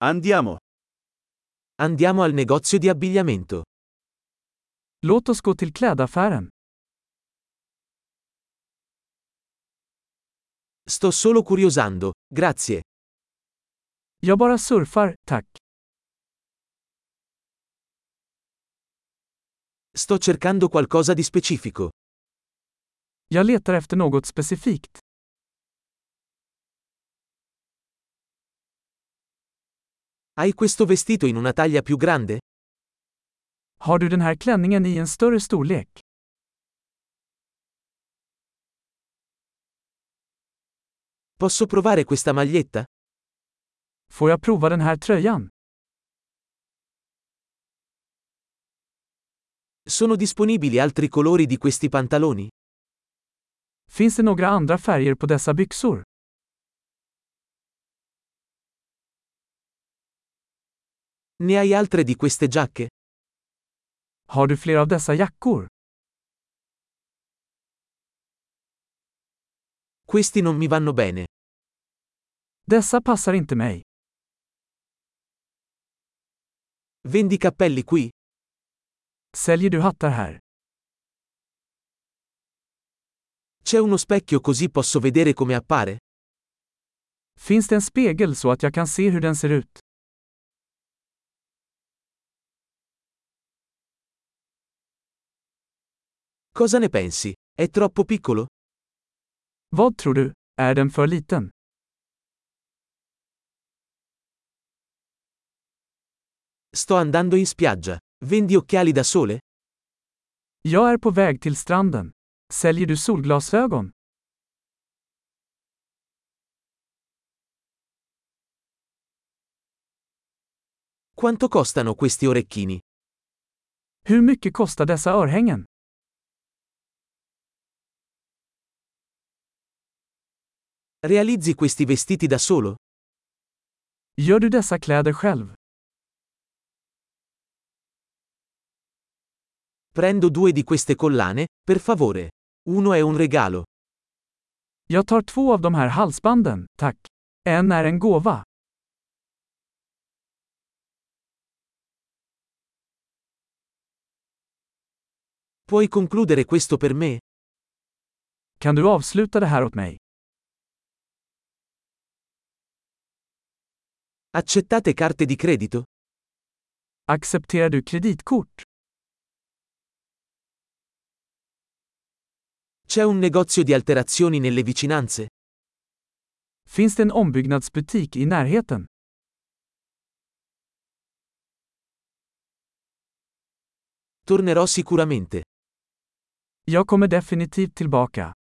Andiamo. Andiamo al negozio di abbigliamento. Låt oss gå till klädaffären. Sto solo curiosando, grazie. Jag bara surfar, tack. Sto cercando qualcosa di specifico. Jag letar efter något specifikt. Hai questo vestito in una taglia più grande? Har du den här klänningen i en större storlek? Posso provare questa maglietta? Får jag prova den här tröjan? Sono disponibili altri colori di questi pantaloni? Finns det några andra färger på dessa byxor? Ne hai altre di queste giacche? Har du fler av dessa jackor? Questi non mi vanno bene. Dessa passar inte mig. Vendi cappelli qui? Säljer du hattar här? C'è uno specchio così posso vedere come appare? Finns det en spegel så att jag kan se hur den ser ut? Cosa ne pensi? È troppo piccolo? Vad tror du? Är den för liten? Sto andando in spiaggia. Vendi occhiali da sole? Jag är på väg till stranden. Säljer du solglasögon? Quanto costano questi orecchini? Hur mycket kostar dessa örhängen? Realizzi questi vestiti da solo? Gör du dessa kläder själv? Prendo 2 di queste collane, per favore. Uno è un regalo. Jag tar 2 av de här halsbanden, tack. En är en gåva. Puoi concludere questo per me? Kan du avsluta det här åt mig? Accettate carte di credito? Accepterar du kreditkort? C'è un negozio di alterazioni nelle vicinanze? Finns det en ombyggnadsbutik i närheten? Tornerò sicuramente. Jag kommer definitivt tillbaka.